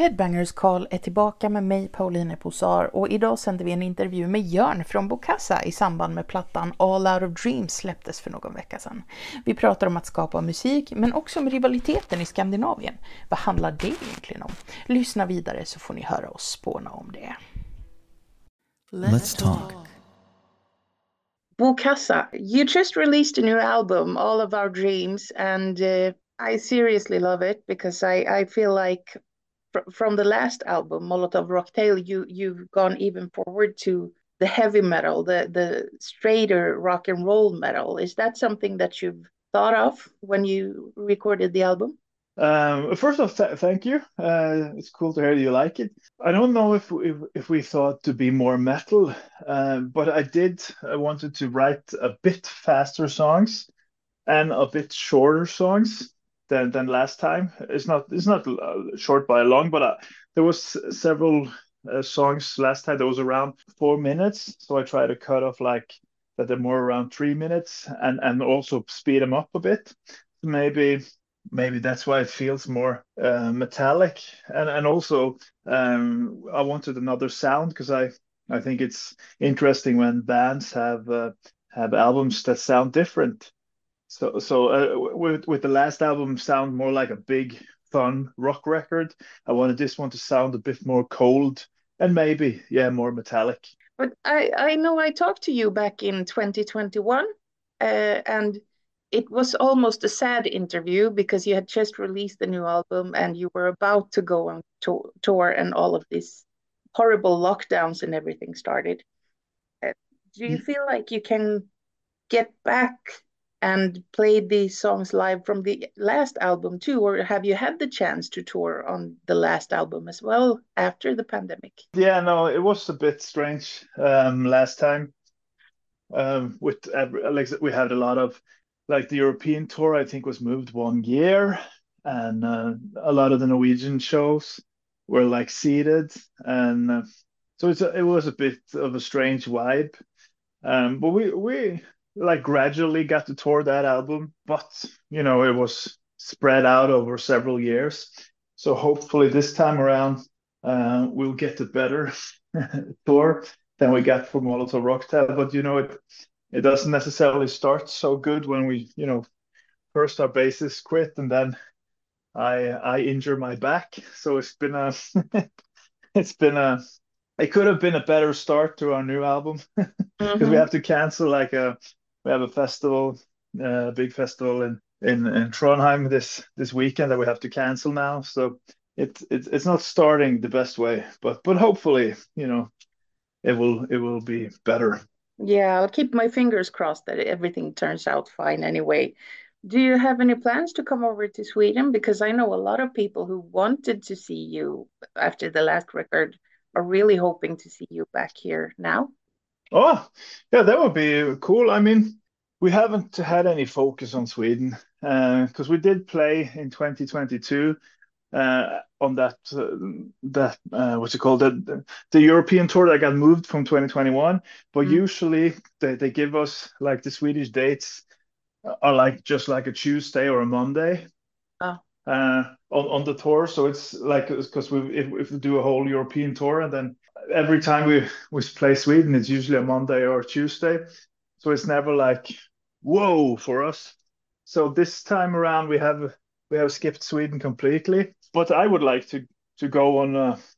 Headbangers Call är tillbaka med mig, Pauline Posar, och idag sänder vi en intervju med Jörn från Bokassa i samband med plattan All Out of Dreams släpptes för någon vecka sedan. Vi pratar om att skapa musik, men också om rivaliteten i Skandinavien. Vad handlar det egentligen om? Lyssna vidare så får ni höra oss spåna om det. Let's talk. Bokassa, you just released a new album, All of Our Dreams, and I seriously love it because I feel like from the last album, Molotov Rocktail, you've gone even forward to the heavy metal, the straighter rock and roll metal. Is that something that you've thought of when you recorded the album? First off, thank you. It's cool to hear you like it. I don't know if we thought to be more metal, but I wanted to write a bit faster songs and a bit shorter songs than last time. It's not short by long, but there was several songs last time that was around 4 minutes, so I try to cut off like that they're more around 3 minutes and also speed them up a bit. Maybe that's why it feels more metallic, and also I wanted another sound because I think it's interesting when bands have albums that sound different. So with the last album sound more like a big fun rock record, I wanted this one to sound a bit more cold and maybe more metallic. But I know I talked to you back in 2021, and it was almost a sad interview because you had just released a new album and you were about to go on tour and all of these horrible lockdowns and everything started. Do you feel like you can get back and play these songs live from the last album too, or have you had the chance to tour on the last album as well after the pandemic? Yeah, no, it was a bit strange last time. Like we had a lot of like the European tour, I think was moved 1 year, and a lot of the Norwegian shows were like seated, and so it was a bit of a strange vibe. But we like gradually got to tour that album, but you know it was spread out over several years. So hopefully this time around we'll get a better tour than we got for Molotov Rocktail. But you know it doesn't necessarily start so good when we first our bassist quit and then I injure my back. So it's been a it's been a it could have been a better start to our new album because we have to cancel we have a festival, a big festival in Trondheim this weekend that we have to cancel now. So it's not starting the best way, but hopefully it will be better. Yeah, I'll keep my fingers crossed that everything turns out fine anyway. Do you have any plans to come over to Sweden? Because I know a lot of people who wanted to see you after the last record are really hoping to see you back here now. Oh, yeah, that would be cool. I mean, we haven't had any focus on Sweden because we did play in 2022 on that what's it called, the European tour that got moved from 2021. But usually they give us like the Swedish dates are like just like a Tuesday or a Monday on the tour. So it's like because if we do a whole European tour and then every time we play Sweden, it's usually a Monday or a Tuesday. So it's never like whoa for us. So this time around we have skipped Sweden completely. But I would like to go on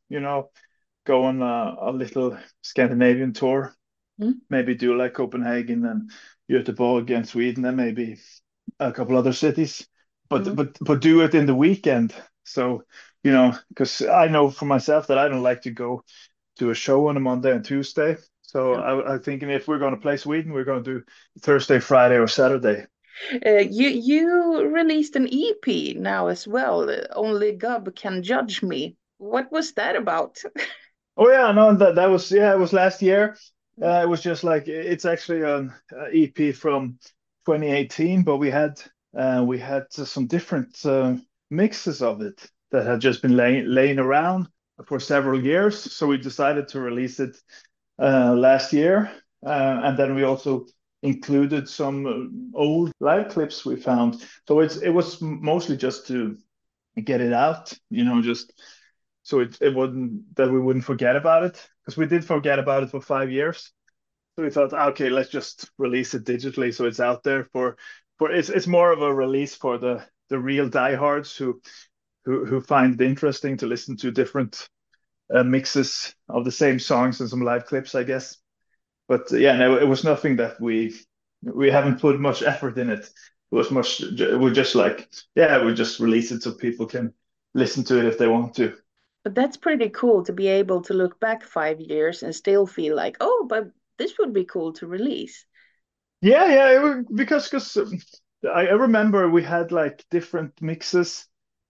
a little Scandinavian tour. Maybe do like Copenhagen and Göteborg and Sweden and maybe a couple other cities. But do it in the weekend. So because I know for myself that I don't like to go to a show on a Monday and Tuesday. So I'm thinking if we're going to play Sweden, we're going to do Thursday, Friday, or Saturday. You released an EP now as well. Only God Can Judge Me. What was that about? Oh yeah, no, that was it was last year. It was just like it's actually an EP from 2018, but we had some different mixes of it that had just been laying around for several years. So we decided to release it last year, and then we also included some old live clips we found. So it was mostly just to get it out, just so it wouldn't that we wouldn't forget about it, because we did forget about it for 5 years. So we thought, okay, let's just release it digitally so it's out there for it's more of a release for the real diehards who find it interesting to listen to different mixes of the same songs and some live clips, I guess. But yeah, no, it was nothing that we haven't put much effort in it. It was much we're just like, yeah, we just release it so people can listen to it if they want to. But that's pretty cool to be able to look back 5 years and still feel like, oh, but this would be cool to release. Yeah, yeah, because I remember we had like different mixes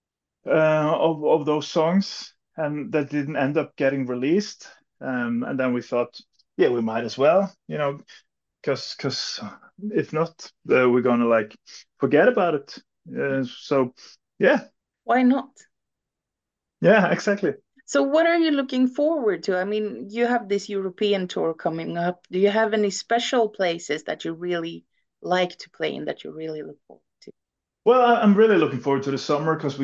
of those songs, and that didn't end up getting released. And then we thought, yeah, we might as well, because if not, we're gonna like forget about it. So yeah, Why not? yeah, exactly. So what are you looking forward to? I mean, you have this European tour coming up. Do you have any special places that you really like to play in that you really look forward to? Well, I'm really looking forward to the summer because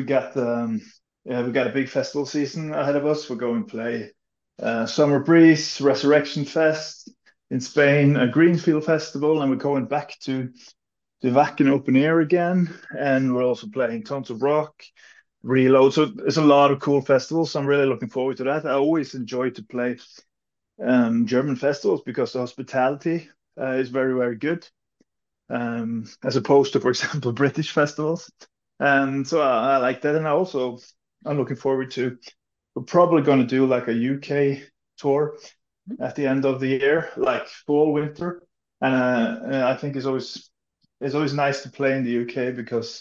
we got a big festival season ahead of us. We're going to play Summer Breeze, Resurrection Fest in Spain, a Greenfield Festival, and we're going back to the Wacken Open Air again. And we're also playing tons of rock, Reload. So it's a lot of cool festivals. I'm really looking forward to that. I always enjoy to play German festivals because the hospitality is very, very good, as opposed to, for example, British festivals. And so I like that. And I'm looking forward to, we're probably going to do like a UK tour at the end of the year, like fall, winter. And I think it's always nice to play in the UK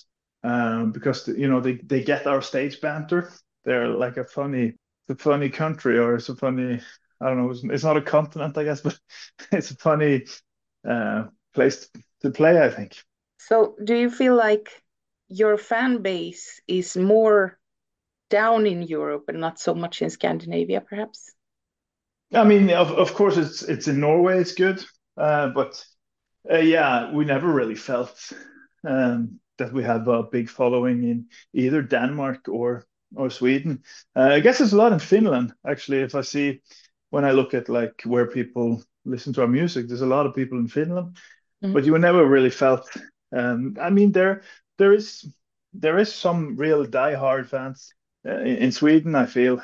because they get our stage banter. They're like it's a funny country, or it's a funny, I don't know, it's not a continent, I guess, but it's a funny uh, place to play, I think. So do you feel like your fan base is more down in Europe and not so much in Scandinavia, perhaps? I mean, of course, it's in Norway, it's good, but yeah, we never really felt that we have a big following in either Denmark or Sweden. I guess there's a lot in Finland, actually. If I see when I look at like where people listen to our music, there's a lot of people in Finland, Mhm. but you never really felt. I mean, there is there is some real diehard fans in Sweden, I feel,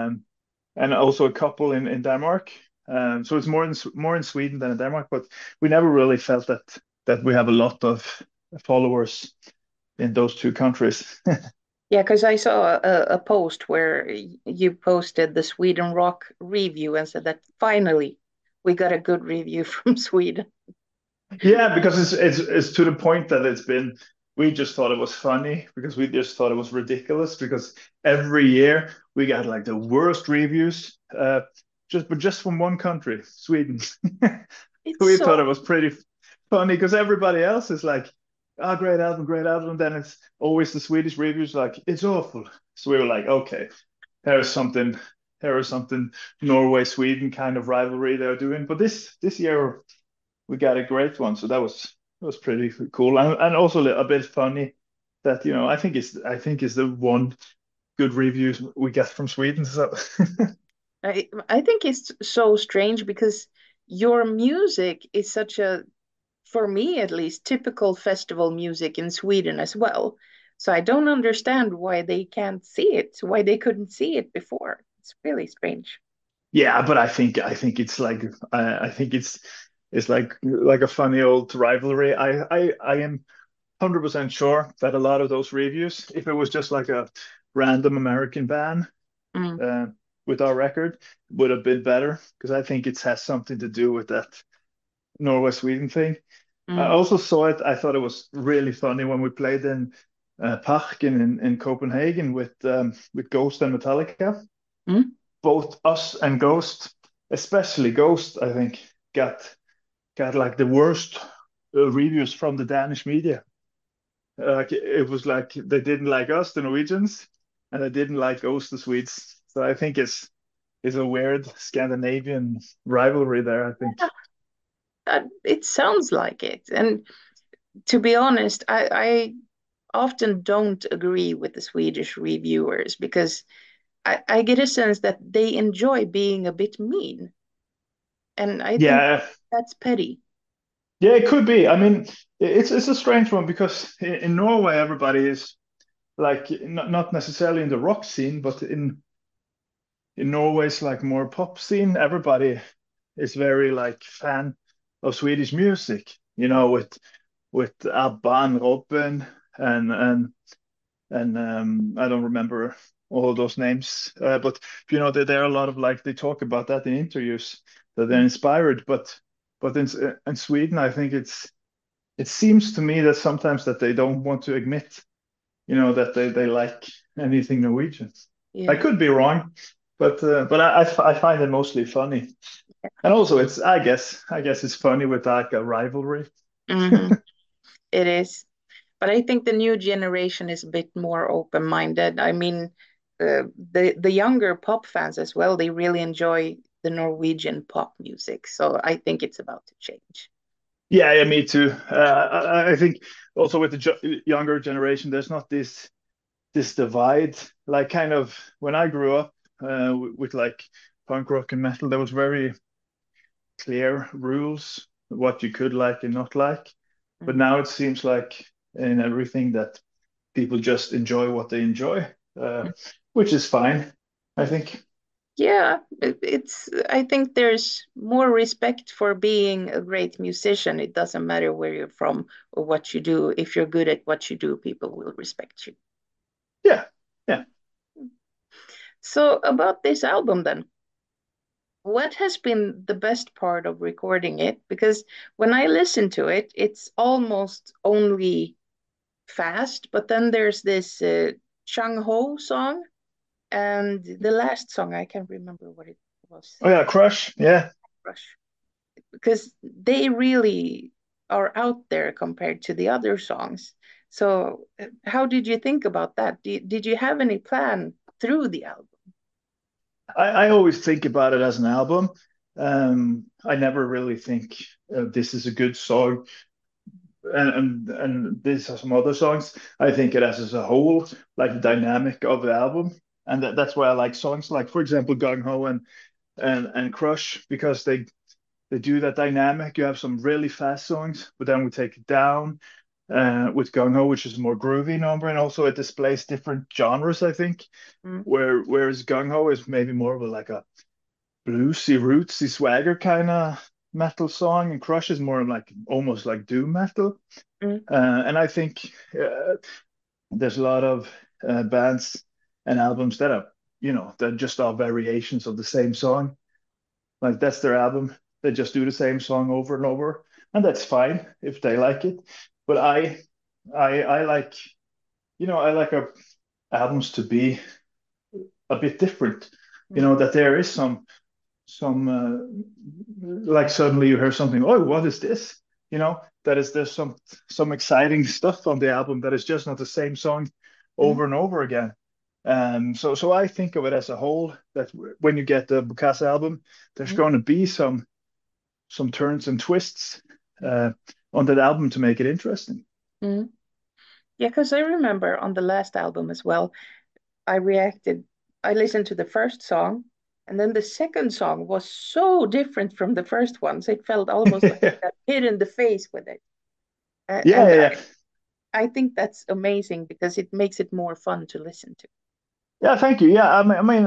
and also a couple in Denmark. So it's more in Sweden than in Denmark, but we never really felt that we have a lot of followers in those two countries. Yeah, because I saw a post where you posted the Sweden Rock review and said that finally we got a good review from Sweden. Yeah, because it's to the point that we just thought it was funny because we just thought it was ridiculous because every year we got like the worst reviews, just from one country, Sweden. It's We thought so it was pretty funny because everybody else is like, "Oh, great album, great album." And then it's always the Swedish reviews like, "It's awful." So we were like, "Okay, there's something, there is something Norway Sweden kind of rivalry they're doing." But this year we got a great one, so that was pretty cool and also a bit funny that I think is the one good reviews we get from Sweden. So I think it's so strange because your music is such a, for me at least, typical festival music in Sweden as well. So I don't understand why they can't see it, why they couldn't see it before. It's really strange. yeah, but I think it's like I think it's like a funny old rivalry. I am 100% sure that a lot of those reviews, if it was just like a random American band Mm, uh, with our record, would have been better because I think it has something to do with that Norway Sweden thing. I mm, also saw it. I thought it was really funny when we played in Parken in Copenhagen with Ghost and Metallica. mm. Both us and Ghost, especially Ghost, I think got like the worst reviews from the Danish media. Like it was like they didn't like us, the Norwegians, and they didn't like us, the Swedes. So I think it's a weird Scandinavian rivalry there, I think. It sounds like it. And to be honest, I often don't agree with the Swedish reviewers because I get a sense that they enjoy being a bit mean, and I think Yeah, that's petty. yeah, it could be. I mean, it's a strange one because in Norway everybody is like not necessarily in the rock scene, but in Norway's like more pop scene, everybody is very like fan of Swedish music. You know, with ABBA and Robin and I don't remember all those names, but you know there are a lot of like they talk about that in interviews that they're inspired. But in Sweden, I think it seems to me that sometimes that they don't want to admit, you know, that they like anything Norwegian. I Yeah. could be wrong, but I find it mostly funny, and also it's I guess it's funny with like a rivalry. Hmm. It is. But I think the new generation is a bit more open-minded. I mean, the younger pop fans as well, they really enjoy the Norwegian pop music. So I think it's about to change. Yeah, yeah, me too. I think also with the younger generation, there's not this divide. Like kind of when I grew up with like punk rock and metal, there was very clear rules what you could like and not like. But Mm. now it seems like in everything that people just enjoy what they enjoy, which is fine, I think. Yeah, I think there's more respect for being a great musician. It doesn't matter where you're from or what you do. If you're good at what you do, people will respect you. Yeah, yeah. So about this album then, what has been the best part of recording it? Because when I listen to it, it's almost only fast, but then there's this Chang Ho song and the last song, I can't remember what it was. Oh yeah, Crush. Yeah. Rush. Because they really are out there compared to the other songs. So, how did you think about that? Did you have any plan through the album? I always think about it as an album. I never really think this is a good song and these are some other songs. I think it as a whole, like the dynamic of the album, and that's why I like songs like, for example, Gung Ho and Crush because they do that dynamic. You have some really fast songs, but then we take it down with Gung Ho, which is a more groovy number, and also it displays different genres. I think Mm, whereas Gung Ho is maybe more of a like a bluesy, rootsy swagger kind of metal song, and Crush is more like almost like doom metal. mm, And I think there's a lot of bands and albums that are, you know, that just are variations of the same song. Like that's their album. They just do the same song over and over, and that's fine if they like it. But I like, you know, I like our albums to be a bit different. You mm, know, that there is some like suddenly you hear something, oh, what is this? You know, that is there's some exciting stuff on the album that is just not the same song mm, over and over again. So I think of it as a whole that when you get the Bukasa album, there's mm, going to be some turns and twists uh, on that album to make it interesting. mm. Yeah, because I remember on the last album as well, I reacted, I listened to the first song, and then the second song was so different from the first one. So it felt almost like Yeah, I got hit in the face with it. yeah, And yeah. I think that's amazing because it makes it more fun to listen to. Yeah, thank you. Yeah,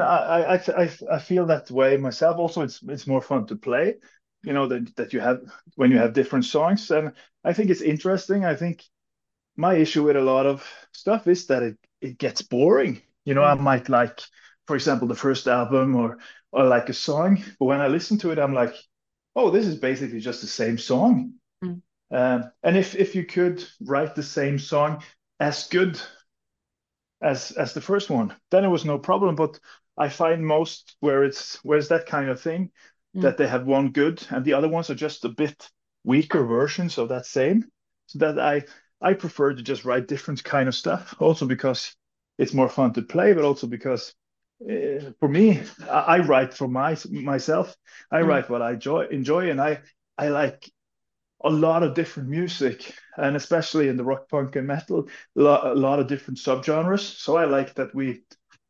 I feel that way myself. Also, it's more fun to play, you know, that you have when you have different songs, and I think it's interesting. I think my issue with a lot of stuff is that it gets boring. You know, I Mm, might like, for example, the first album or like a song, but when I listen to it, I'm like, oh, this is basically just the same song. mm, And if you could write the same song as good as the first one, then it was no problem. But I find most where it's that kind of thing mm, that they have one good and the other ones are just a bit weaker versions of that same. So that I prefer to just write different kind of stuff. Also because it's more fun to play, but also because for me, I write for myself. I mm, write what I enjoy, and I like a lot of different music, and especially in the rock, punk, and metal, a lot of different subgenres. So I like that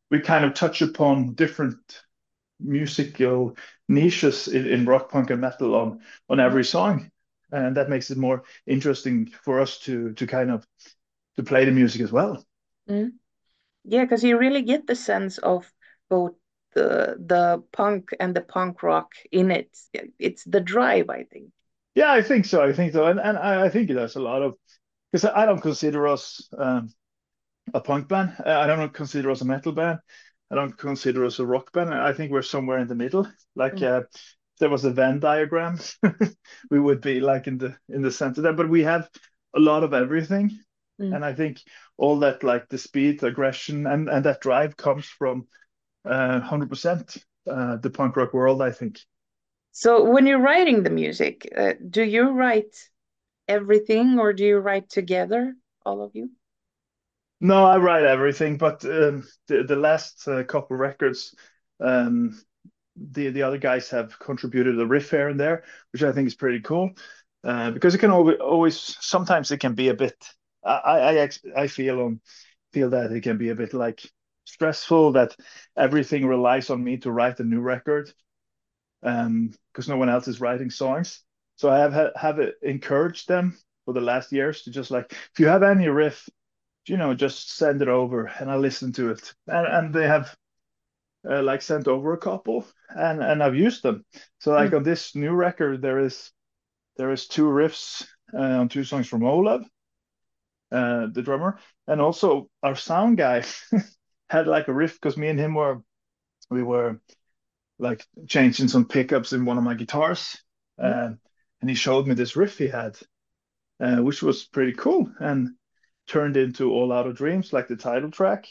we kind of touch upon different musical niches in rock, punk, and metal on every song, and that makes it more interesting for us to kind of to play the music as well. Mm. Yeah, because you really get the sense of both the punk and the punk rock in it. It's the drive, I think. Yeah, I think so. I think so, and I think there's a lot of because I don't consider us a punk band. I don't consider us a metal band. I don't consider us a rock band. I think we're somewhere in the middle. Like Mm. if there was a Venn diagram, we would be like in the center there. But we have a lot of everything, Mm. and I think all that like the speed, aggression, and that drive comes from 100% the punk rock world, I think. So when you're writing the music, do you write everything or do you write together, all of you? No, I write everything, but the last couple records, um, the other guys have contributed a riff here and there, which I think is pretty cool. Because it can always sometimes it can be a bit. I feel that it can be a bit like stressful that everything relies on me to write a new record, because no one else is writing songs. So I have encouraged them for the last years to just like if you have any riff, just send it over and I listen to it. And they have like sent over a couple and I've used them. So like Mm. on this new record, there is two riffs on two songs from Olav, the drummer, and also our sound guy had like a riff because me and him we were like changing some pickups in one of my guitars, Mm. and he showed me this riff he had, which was pretty cool and turned into All Out of Dreams, like the title track.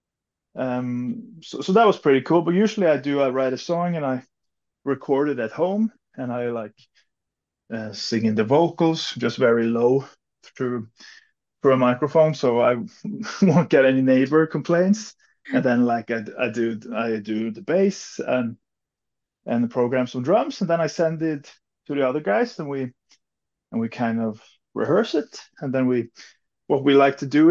So that was pretty cool. But usually I write a song and I record it at home and I like sing in the vocals just very low through through a microphone so I won't get any neighbor complaints. And then like I do the bass and program some drums and then I send it to the other guys and we kind of rehearse it and then we what we like to do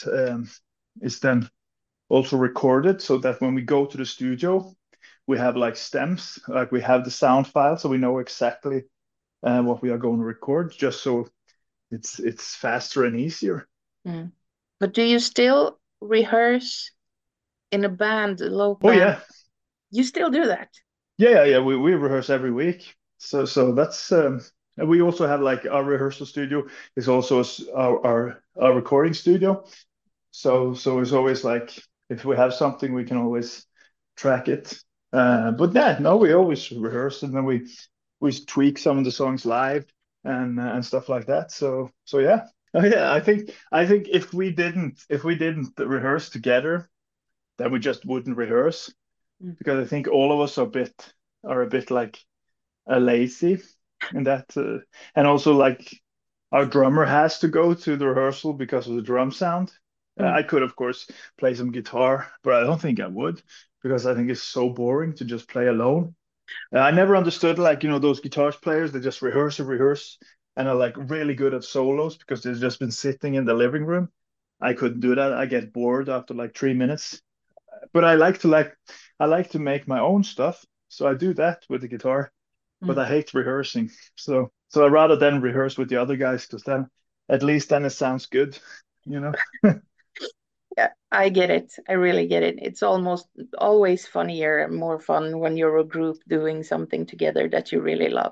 is then also record it so that when we go to the studio, we have like stems, like we have the sound file, so we know exactly what we are going to record, just so it's faster and easier. Mm. But do you still rehearse in a band, a local Oh band? yeah, You still do that? yeah. We rehearse every week, so that's and we also have like our rehearsal studio is also our recording studio. So it's always like if we have something, we can always track it. But yeah, no, we always rehearse and then we tweak some of the songs live and stuff like that. So yeah. Oh yeah, I think if we didn't rehearse together, then we just wouldn't rehearse Mm. because I think all of us are a bit like lazy in that, and also like our drummer has to go to the rehearsal because of the drum sound. Mm. I could, of course, play some guitar, but I don't think I would because I think it's so boring to just play alone. I never understood like those guitar players they just rehearse and rehearse and are like really good at solos because they've just been sitting in the living room. I couldn't do that. I get bored after like 3 minutes. But I like to make my own stuff, so I do that with the guitar. But Mm. I hate rehearsing, so I rather than rehearse with the other guys because then at least then it sounds good, you know. Yeah, I get it. I really get it. It's almost always funnier and more fun when you're a group doing something together that you really love.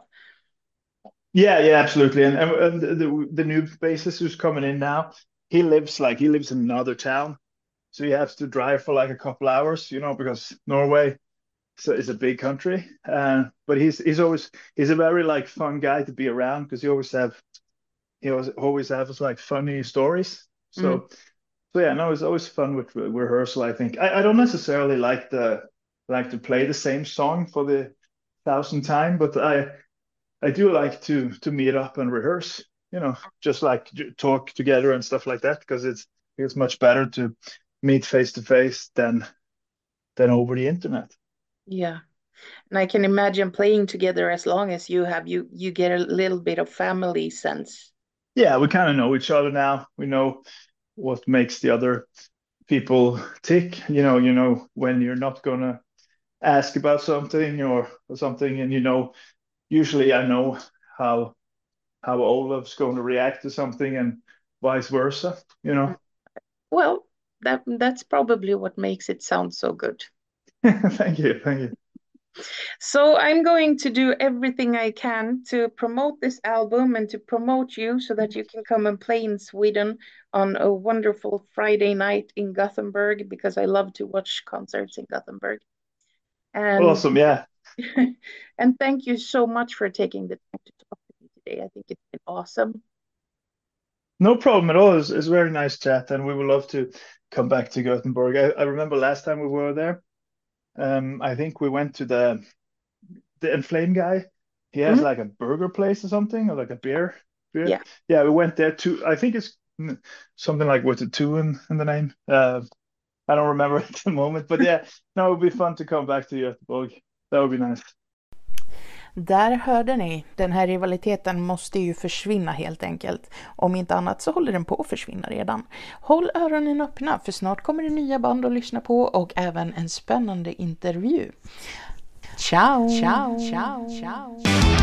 Yeah, absolutely. And the new bassist who's coming in now, he lives in another town, so he has to drive for like a couple hours, because Norway is a big country. But he's a very like fun guy to be around because he always has like funny stories. Mm. So yeah, no, it's always fun with rehearsal. I think I don't necessarily like to play the same song for the thousandth time, but I do like to meet up and rehearse. Just like talk together and stuff like that because it's much better to meet face to face than over the internet. Yeah. And I can imagine playing together as long as you have you get a little bit of family sense. Yeah, we kind of know each other now. We know what makes the other people tick. You know when you're not gonna ask about something or something, and usually I know how Olaf's going to react to something and vice versa. Well, that's probably what makes it sound so good. Thank you. So I'm going to do everything I can to promote this album and to promote you so that you can come and play in Sweden on a wonderful Friday night in Gothenburg, because I love to watch concerts in Gothenburg. And Awesome, yeah. and thank you so much for taking the time to talk to me today. I think it's been awesome. No problem at all. It's very nice chat, and we would love to come back to Gothenburg. I remember last time we were there. I think we went to the Inflame guy. He has like a burger place or something, or like a beer. Yeah. Yeah, we went there too. I think it's something like with a two in the name. I don't remember at the moment, but yeah, no, it would be fun to come back to Göteborg. That would be nice. Där hörde ni, den här rivaliteten måste ju försvinna helt enkelt. Om inte annat så håller den på att försvinna redan. Håll öronen öppna, för snart kommer det nya band att lyssna på och även en spännande intervju. Ciao! Ciao! Ciao! Ciao!